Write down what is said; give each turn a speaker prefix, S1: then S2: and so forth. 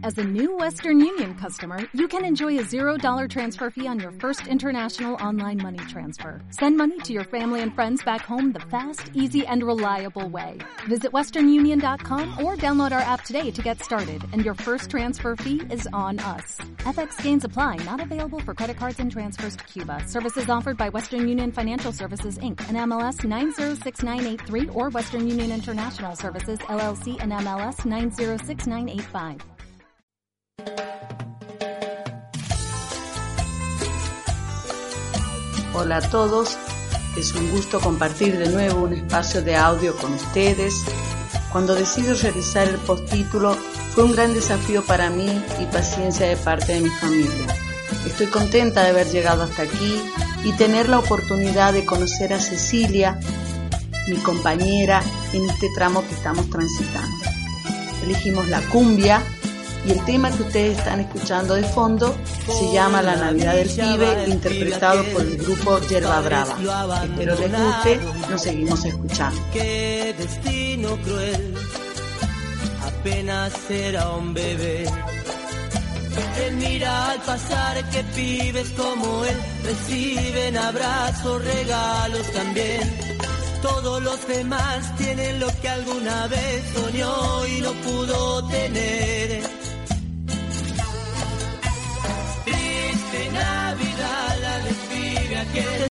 S1: As a new Western Union customer, you can enjoy a $0 transfer fee on your first international online money transfer. Send money to your family and friends back home the fast, easy, and reliable way. Visit westernunion.com or download our app today to get started, and your first transfer fee is on us. FX gains apply, not available for credit cards and transfers to Cuba. Services offered by Western Union Financial Services, Inc., and MLS 906983, or Western Union International Services, LLC, and MLS 906985.
S2: Hola a todos, es un gusto compartir de nuevo un espacio de audio con ustedes. Cuando decido realizar el postítulo fue un gran desafío para mí y paciencia de parte de mi familia. Estoy contenta de haber llegado hasta aquí y tener la oportunidad de conocer a Cecilia, mi compañera, en este tramo que estamos transitando. Elegimos la cumbia y el tema que ustedes están escuchando de fondo se llama La Navidad del Pibe, interpretado por el grupo Yerba Brava. Espero les guste, nos seguimos escuchando.
S3: Qué destino cruel, apenas era un bebé. Él mira al pasar que pibes como él reciben abrazos, regalos también. Todos los demás tienen lo que alguna vez soñó y no pudo tener. Triste Navidad la del pibe aquel,